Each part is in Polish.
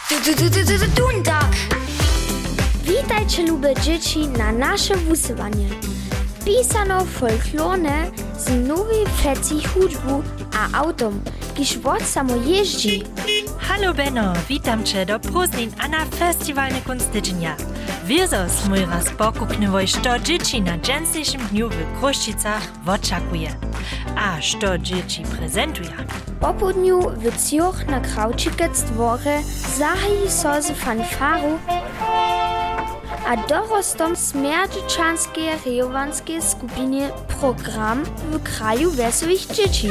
Duntag! Witajcie, lube dzieci, na nasze wusywanie. Pisano folklorne z nowej feci hudbu a autom, kiż wod samo jeździ. Hallo Benno, witam cię do Proznin a na festiwalne kunstydźnia. Wiesos mój raz pokupnywoj, što dzieci na dżęsniejszym dniu w Kruščicach oczekuje. A što dzieci prezentuje. Po południu w Zürich na Kraučikec dworze zahají so z fanfaru a dorostom smerdźyczanskiej rejowanskiej skupinie program w kraju wesołych dzieci.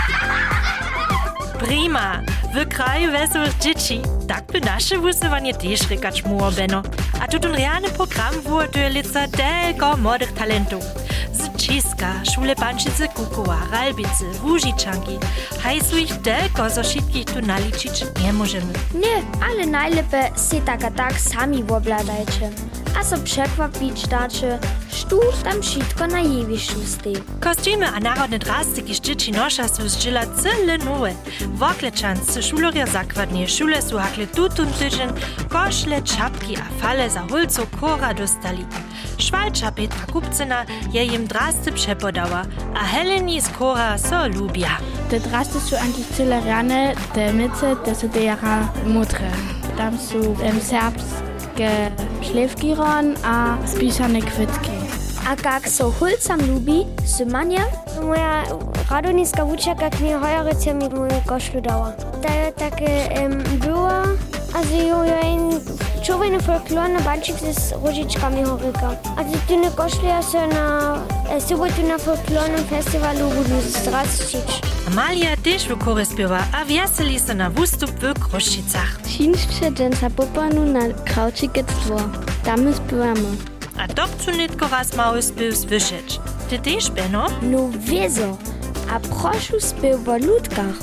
Prima! W kraju wesołych dzieci. Tak by nasze wusywanie też rekać muło, Benno. A tu ten realny program wurde lica delko młodych talentów. Z Česka, Szule Pančice Kukowa, Ralbice, Łužičanki. Hajsu ich delko, zo všetkých tu naličić nie możemy. Nie, ale najlepiej se tak sami wobladajcie. A so przekwapić dacie, sztu tam wszystko na jewiszczu stej. Kostiumy a narodne drastyki z dzieci nosza są zdziela cyle nowe. Woklečancy, šuloria zakładnie, szule su hakle tutun tydzień, koszle, czapki a fale za hulco kora dostali. Szwalcza Petra Kupcyna je im drasty przepodała, a Heleni z kora so lubia. Te drasty su eigentlich cyle rane, te myce, te su dejara mutre. Tam su serbskie szlewkiron a spisane kwytki. A jak so hulcam lubi, Symania? Moja radoniska wučerka k mnie hojerice mi moju košlu dała. To je takie było, also jo ein człowiek folklorny bančik z róžičkami horyka. A ty ne košlu se na sobotu na folklornym festiwalu budu zdrastić. Amalia też w chóry śpiewa, a weseli se na wustup w Kruščicach. Činšće dženca popanu na Kraučikec dvor. Tam my śpiewamy. A to chcу nitko raz mały spiew słyszeć. Ty też, Benno? No wieso, a prošu spiew w ludkach.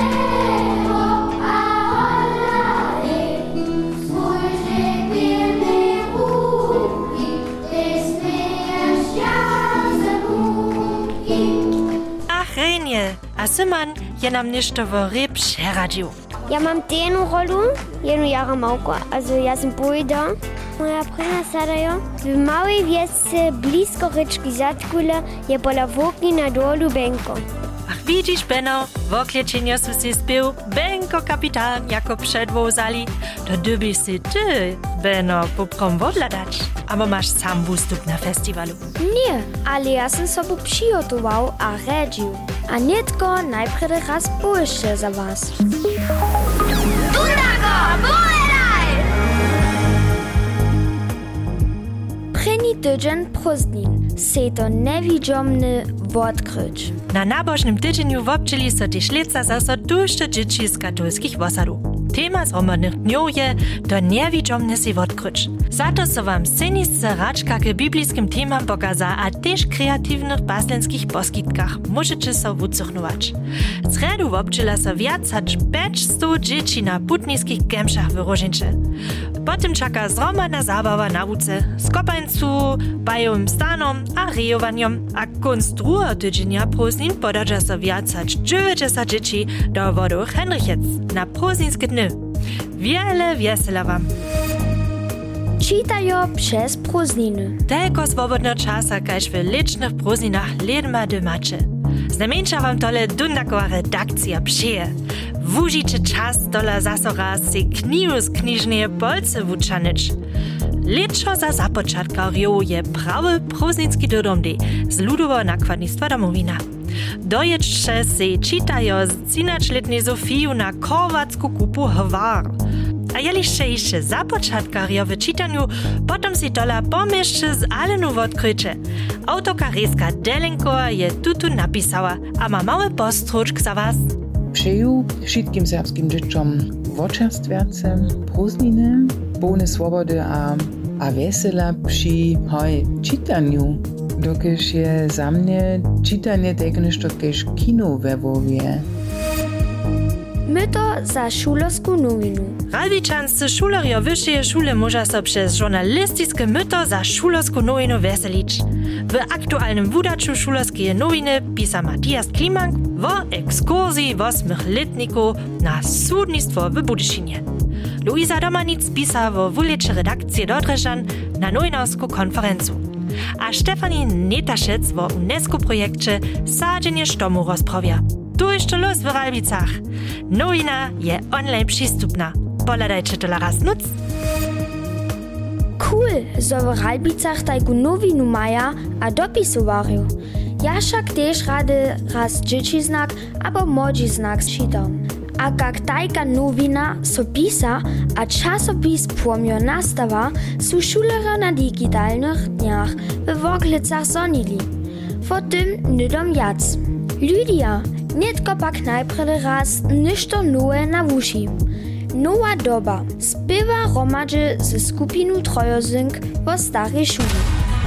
Ach, Renie, a Syman je nam ništo wo ryb przeradził. Ja mam tenu rolu, jednu jara małko, also ja sam bojda. Moja prina sadajo w małej wiesce blisko ryczki Zatkule je pola wokni na dolu Benko. Ach, widzisz, Benno, w oklieczeniu su si spiew Benko kapitan jako przedwozali. To dybyś si ty, Benno, poprom wodladać. Aber masz sam wustup na festiwalu. Nie, ale ja sam sobie przygotował a redził. A nitko najpierw raz pójście za was. Preni tydzień Proznin se to newidziomny odkryć. Na nabożnym tydzieniu wobczyli so też leca zaso duszcze dzieci z katolskich wosadów. Tema zromadnych dniów je to niewidziomne si odkryć. Za to so wam scenisce raczka k biblijskim temam pokaza, a też kreatywnych baslenskich poskitkach możecie so wucuchnować. Z redu wobczyla so wiac hač 500 dzieci na putnickich gemszach w Różinče. Potem czeka zromadna zabawa na wuce, skopańcu, bajowym stanom a rejowaniom, a konc drugiego tydzienia Proznin podadza so wiac hač 90 dzieci do wodu Henrichec na prozninskie dny. Wiele wiesela wam! Čitajo przez Prozniny. Telko swobodno czasa, kaž w licznych Prozninach ledma dymacie. Znamieńcza wam tole dundakowa redakcja przyje. Wužicie czas dola zaso raz si knihu z knižneje bolce wučanič. Leczo za započatka je prawy prozninski dodomdy z ludowo nakładnictwa domowina. Dojedźcie si čitajo z 13-letnej Zofiju na korwacku kupu Hvar. A jeliście jeszcze započatkarjo w czytaniu, potom si dola pomieszcze z Alenu odkrycie. Autorka Reska Delenko je tutu napisała, a ma mały postróczk za was. Přeju všetkým serbským dzieciom vočerstviace, Prozniny, polne swobody a vesela przy czytaniu. Dokež je za mnie czytanie tego nešto kež kino we Lwowie. My to za šulersku nowinu. Ralbičanscy šulerjo wyższej szule może so przez żurnalistyczne myto za šulersku nowinu weselić. W aktualnym wydaczu šulerskie nowiny pisa Matthias Klimank o ekskursji 8-letników na sudnictwo w Budyšinie. Luisa Domanic pisa wo wuliče redakcije Dodrežan na Nojnowsku konferencu. A Stefanie Netaszec wo UNESCO-projekcie Sadzenie štomu rozprawia. Tu jeszcze los w Ralbicach. Nowina je online przystupna. Poladajcie to raz nuc. Cool, so w Ralbicach tajku nowinu maja a dopisowariu. Ja však tež rady raz dzieci znak albo młodzi znak czytam. A jak tajka nowina so pisa a czasopis płomio nastawa, su szulera na digitalnych dniach w Woklicach zonili. Po tym nydom jac. Lydia, nitko pak najpredy raz ništo nowe na wuši. Nowa doba. Spiewa romadže ze skupinu Trojozynk wo starej szuli.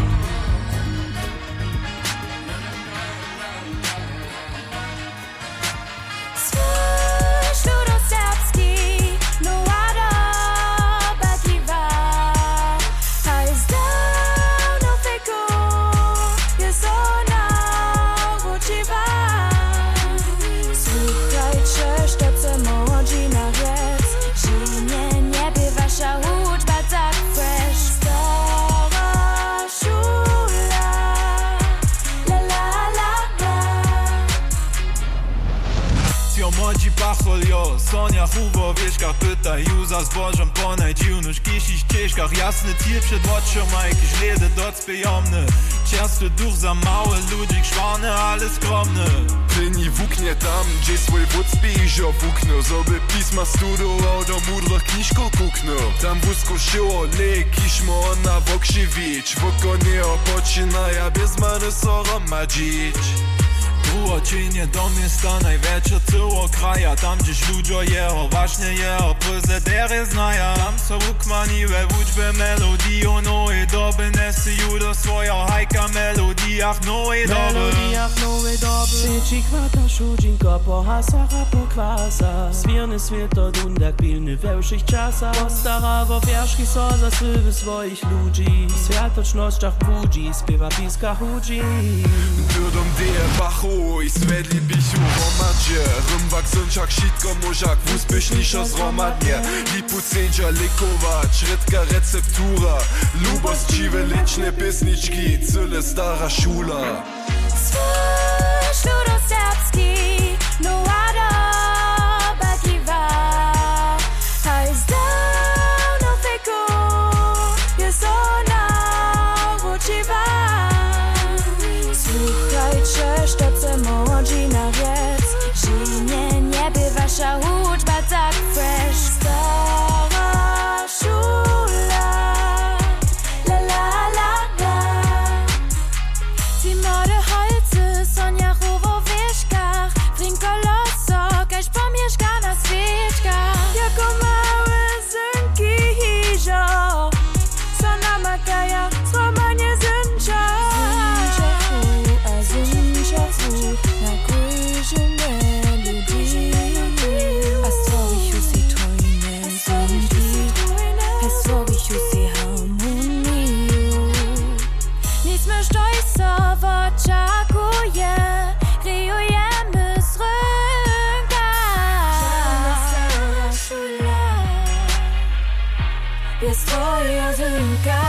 Sonja Hubo, wieszkach pyta, Juza z Bożem po najdziwnych kisich ścieżkach. Jasny tier przed oczami, jakiś ledy docpejomny. Ciasty duch za małe ludzi, szwane, ale skromny. Pryni wuknie tam, gdzie swój wód spijżo wukno. Zoby pisma studował, do mudrych kniżków kukno. Tam wózko szyło, lekiśmy ona wokrzywicz. Wokonie opoczynaja, bez many soro madzić. Uoczynie do miasta największe tyło kraja. Tam gdzieś ludzie jeho, właśnie jeho prezydere znaja. Tam są ukmaniwe w uczbie melodii o nowej doby. Nesyju do swoją hajka melodiach nowej doby. Melodiach nowej doby. Syci kwata szudzinko po hasach a po kwasach. Zwierny świat od undak pilny we wszych czasach. Postarawo wierzchi so za sływy swoich ludzi. Światocznościach budzi, śpiewa piska chudzi. Dudom die bachu i svedli bichu romadzie. Rymwak synczak sitko mużak, wóz pysznisza zromadnie. Lipu sędzia likować, redka receptura. Lubos dziwe liczne piesniczki, cyle stara szula. Swój ludoserbski, no doba kiwa. A jest dawno wieku, jest ona uczywa. Słuchajcie, sztoce młodzi na wiec. Żynie nie bywa wasza uczba tak fresh. Stara szula, la la la la. Ci młode holcy są jachowo w wieszkach. Brinko loso, kaś pomieszka na świeczkach. Jako małe synki hiżo, są namakaja, słomanie zęcza. Oczakuje, kryjujemy z rynka. Żadna szula, jest twoja zynka.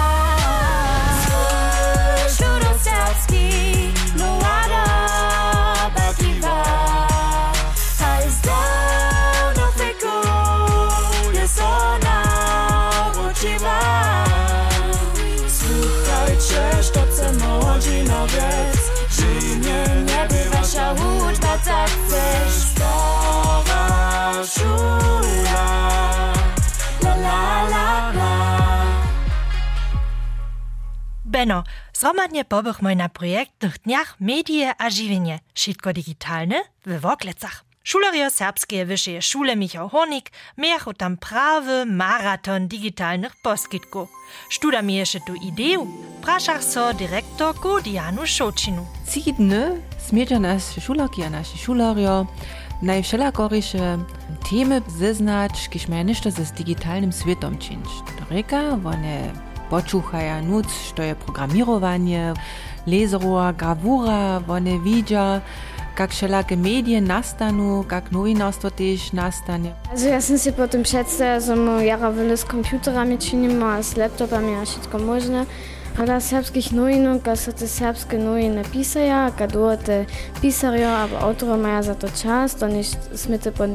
Swój ludoserbski, no doba kiwa. A jest dawno wieku, jest ona uczywa. Słuchajcie, sztoce młodzi na wiec. Żynie nie bywa wasza uczba tak chcesz. Stara szula, la la la la. Benno, zromadnie pobychmy na projektnych dniach Medie a Žiwienie, wszystko digitalne w Woklicach. Szulerio Serbskie Wyższej Szule Michał Hornik miachu tam prawy maraton digitalnych poskitków. Študa mi jeszcze tu ideju, praszach so dyrektorku Dianu Šočinu. Cidny smiecia nasze šulerki a naši šulerio najwszelakorysze temy zeznać, kiż mają ništo z digitalnym światem czynić. Reka, one počuchaja nuc, što je programirowanie, lezerowa, gravura, one widzia, jak wszelakie media nastanu, jak nowinarstwo też nastanie. Also ja sam si potem představil, že mu jara veľa s komputerami činimo a s laptopami a všetko možné. Ale serbských novinok, a sa te serbské noviny písaja, a dote písaria, alebo autora maja za to čas, to než sme te pod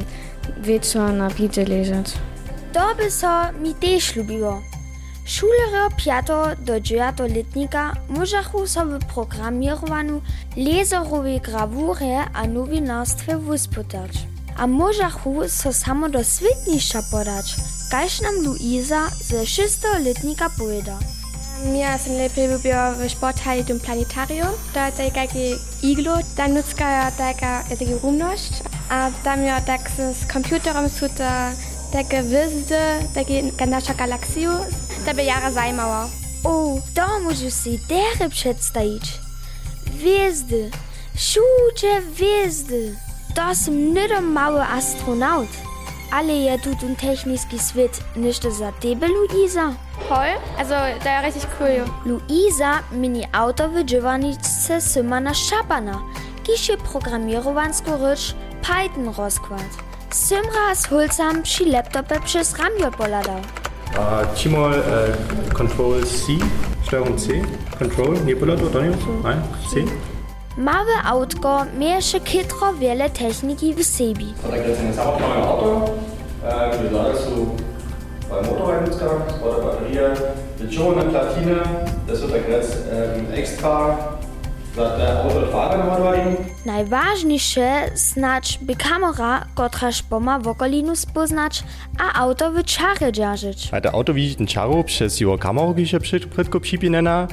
večer na píče ležať. To by so mi tež ľúbilo. Šulery 5. do 9. letnika môžachu sobie programirovanú lézerovej gravúre a novinárstve vyspytať. A môžachu so samo do svetnišća podať, kaž nam Luisa ze 6. letnika poveda. Ja sam lepiej lubiła w sporthalle tym planetarium. Da jest takie iglo, da nutzka taka rumność. A tam ja tak z komputerem suta takie wyzdy, takie nasza galaksiju, da by jara zajmała. O, to możesz si dere przedstawić. Gwiazdy, wszędzie gwiazdy. To sam nie mały astronaut. Ale je tu ten techniczny świat nicht za tebe, Luisa? Voll, also da ist richtig cool. Luisa mini auto w dziewaniczce Symana Szapana, kisie programierowansku rycz Python rozkład. Symra z hulcam przy laptopie przez ramię poladał. Timol Control C, Steuerung C, Control, nie poladał, to nie so? Nein, C. Małe autko miesze kitro wiele techniki w sobie. Tak jetzt in das neue Auto, wie sagst du, beim Motorradnutzgang, das war der Batterie, die schonende Platine, das wird jetzt extra za te Autofahrer naładowali. Najważniejsze znać by kamera, kotraż poma w okolinu spoznać, a auto w czarze dzierżyć. A to auto widzi ten czaro przez jego kamerę, die się przydko przipinena.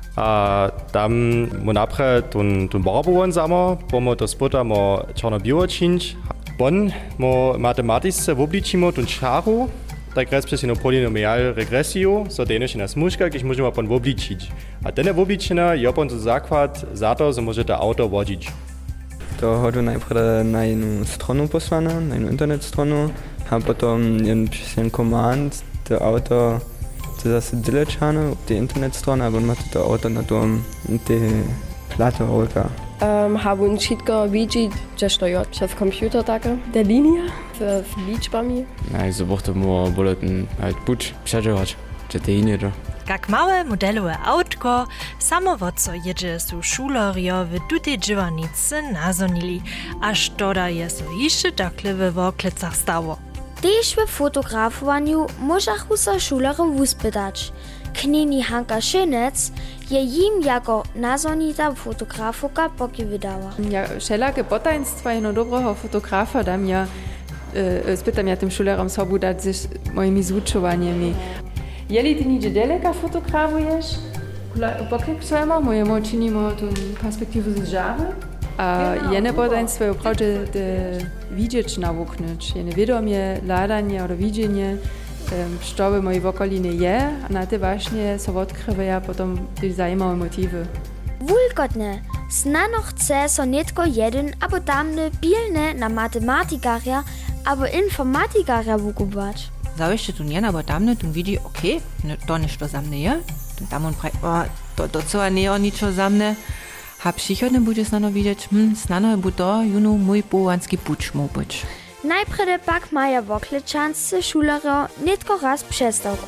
A tam mu napre ten barbowon samo, bo mu to spota mo czarno-białe czynić. Bon mo matematyce obliczymo ten czaro, tak raz przez jedną polynomial regresję, so deno się na smuszkach, gdyż możemy pon obliczyć. A ten obliczena je pon to zakład za to, że może to auto wodzić. To chodzę najpierw na jedną stronę posłane, na jedną internet stronę, a potem przez jeden command to auto to zase dyleczane auf die Internetstrony, aber man to auto na tom te plato auta. Haben wszystko widzi, że steuert przez komputer takie, der linie z liczbami. Also braucht man bulletin halt buč przeżywać, że te linie to. Jak małe modelowe autko, samowodco jedzie su šulerjo w tutej dżywanicy nazonili, aż toda je so jeszcze takle w oklecach stało. Tež w fotografowaniu możachu so šulery wyspytać. Knini Hanka Schönetz je jim jako nazonita fotografoka poki wydała. Ja wszelakie potaństwa jedno dobrego fotografa dam ja spytam ja tym szulerom sobu dać z moimi zvučovanjami. Jeli ty nigdzie daleka fotografujesz? Pokryk swojemu, mojemu czynimo tą perspektywę z żawy. A jedne potaństwo je prawdzie widzieć nawuknąć. Jedne wiadomie, ladanie oder widzenie, co w mojej okolinie je, a na te właśnie so odkrywają potem też zajmowe motywy. Wulkotne, znano chce so netko jeden, abo tamne pilne na matematikaria, abo informatikaria wukubować. Zaujście tu nie, abo tamne, tu widzi, okej, to ništo za mne je. Tam on pravi, to co nie o ničo za mne. A przychodne bude snano widzieć, snano by to juno mój połanski pucz mógł być. Najprede pak maja w oklečance šulero netko raz přestawku.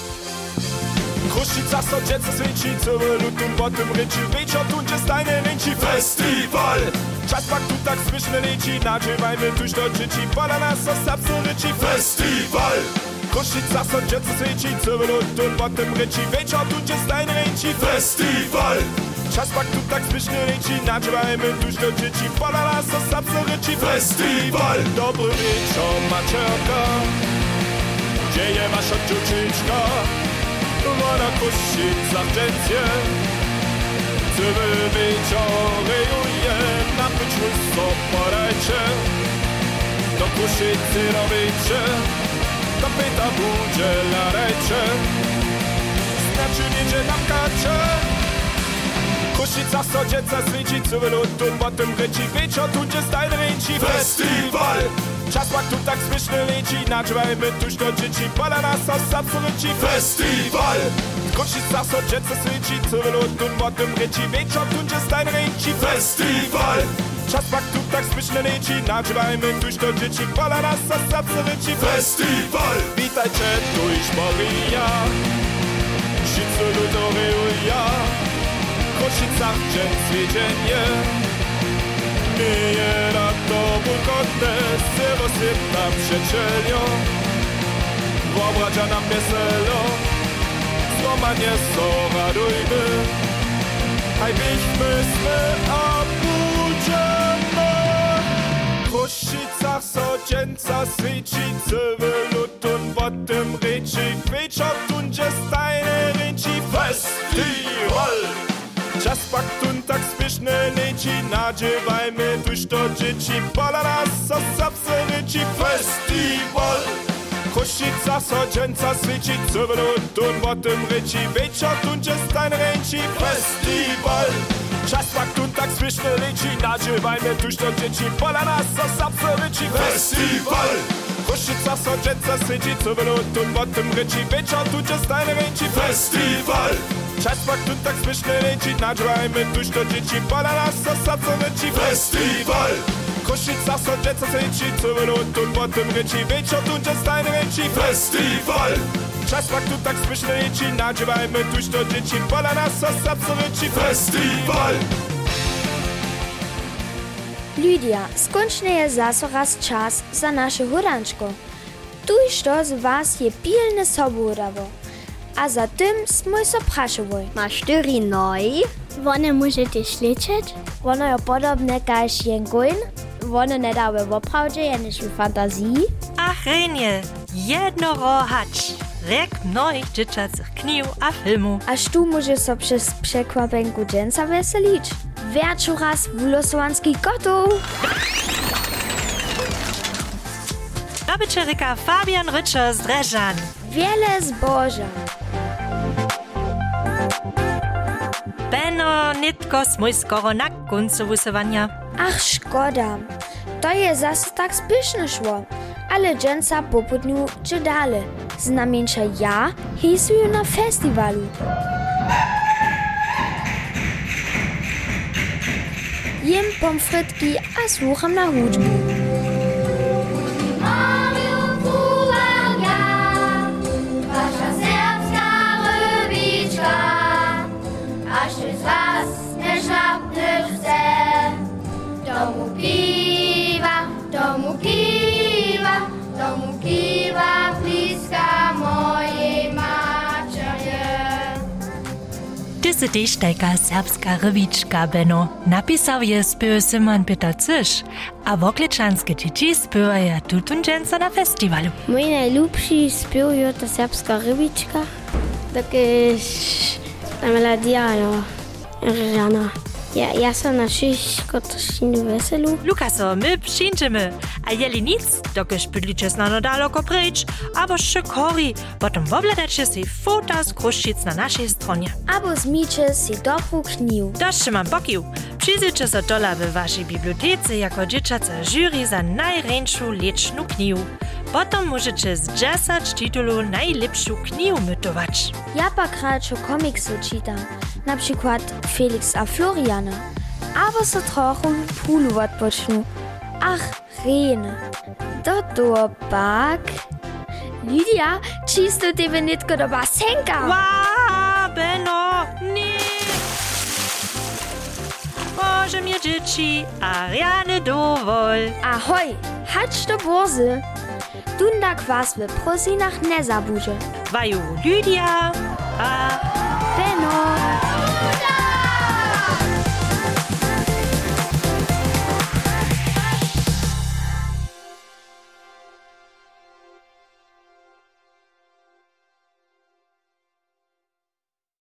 Krušica so djeca sviči, celulutun potem reči, večer tunče stajne reči festival. Čas pak tu tak smišne reči, nađevajme tuž do džiči, pola nas so sapsu reči festival. Krušica so djeca sviči, celulutun potem reči, večer tunče stajne reči festival. Čas pak tu tak smišne reči, nađevajme tuž do džiči, pola nas so sapsu reči festival. Dobry wieczór, mačerka, gdzie je wasza dziewczynka? Ona Krušica džencie, cywy wieczorejuje, na pyczmu so podajcie. Do Krušicy robicie, do pyta budzie ladajcie. Znaczy niedzie nam kacze. Krušica so djeca sviči, cywy lutun, potem reči, wieczor tu gdzie stajne reči festival. Čas pak tu tak smišne reči, nađevajme tuž do džiči, pola nas so sapsu reči festival. Krušica so djeca sviči, cywy lutun, potem reči, wieczor tu gdzie stajne reči festival. Czas faktu tak zbyszne leci, nażywajmy tuż do dzieci, pola nas za serce ryci. Festiwal! Witajcie, tuż Maria, wszyscy ludowy ja, Koszicach dzień zwiedzenie. Mieje na to bukodne, syrosypna przecielio, wyobraża nam weselo, złamanie so radujmy, haj byśmy a budziemy. W Koszicach so dzięca świeci, cywy lutun wotem ryci, wieczor tun gdzie stajne ryci. Festiwal! Czas faktun tak spieszne leci, nadziewajmy tuż do dzieci, pola nas so serce ryci. Festiwal! Košica so dženca sviči, crveno tun votem reči, večer tun gdzie stajne ryci. Festiwal! Czas faktun tak spieszne leci, nadziewajmy tuż do dzieci, pola nas so serce ryci. Festiwal! Košica so dženca sviči, crveno tun votem reči, večer tun gdzie stajne ryci. Festiwal! Czas faktun tak spieszne leci, nadziewajmy tuż do dzieci, pola nas so serce ryci. Festiwal! Košica so dženca sviči, crveno tun votem reči, večer tun gdzie stajne ryci. Festiwal! Czas faktun tak spieszne leci, nadziewajmy tuż do dzieci, pola nas so serce ryci. Festiwal! Lydia, skończny jest zaso raz czas za nasze huranczko. Tuż to z was je pilne sobudawo. A za tym smój so praszowoj. Masz 4 nogi? One możecie śledzić? One je podobne kaž jengoin. One nie dały w oprawdzie, jeniż w fantazji. Ach, Renie, jednorohacz. Rek mnohich dzieciacych kniw a filmu. Aż tu może so przez przekwapenku dżęca weselić. Wieczu raz wylosovanski gotów. Nabyczeryka Fabian Rytscher z Dreżan. Wiele zboża. Beno, nitko smój skoro na końcu wysywania. Ach, szkoda. To je zase tak spieszne szło. Ale dżęca po południu czy dalej. Znamieńcza ja hejsuję na festiwalu. Jem pomfrytki a słucham na hudżbu. Wasza serbska rybiczka, aż ty z was nie żadnych chce. Domu piwa, domu piwa, domu piwa, bliska mojej macierzy. Diese Dichtelka serbska rybiczka, Benno, napisał je spył Simon Peter Cysz, a wokleczanskie dzieci spywają tutun dżęca na festiwalu. Mój najlepszy spył jest ta serbska rybiczka. Takie ta melodia, Rana. Ja sam na wszystko też nie weselu. Lukaso, my przyjdziemy, a jeli nic, dokiż bydlicie znano daleko pryć, albo szykori, potem wobledacie si fota z Kruszczyc na naszej stronie. Albo zmicie si dobrą kniw. Dość mam pokił. Przyjrzyjcie so dola w waszej bibliotece jako dzieciaca jury za najręczą leczną kniw. Potem możecie z 10 tytułów najlepszą kniw mytować. Ja pak radšo komiksy czytam, na przykład Felix a Floriana. Albo so trochę pulu odpocznu. Ach, Rene. Do toho pak. Lydia, čisto tebe nitko do basenka. Wow, Benno, nie. Boże mnie dzieci, Ariane dowol. Ahoj, hacz do bozy. Dunda kwas w prosinach nie zabudże. Waju Lydia a Benno.